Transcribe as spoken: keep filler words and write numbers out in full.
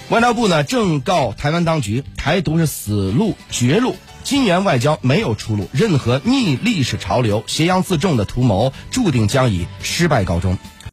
外交部呢正告台湾当局，台独是死路绝路，金元外交没有出路，任何逆历史潮流、挟洋自重的图谋，注定将以失败告终。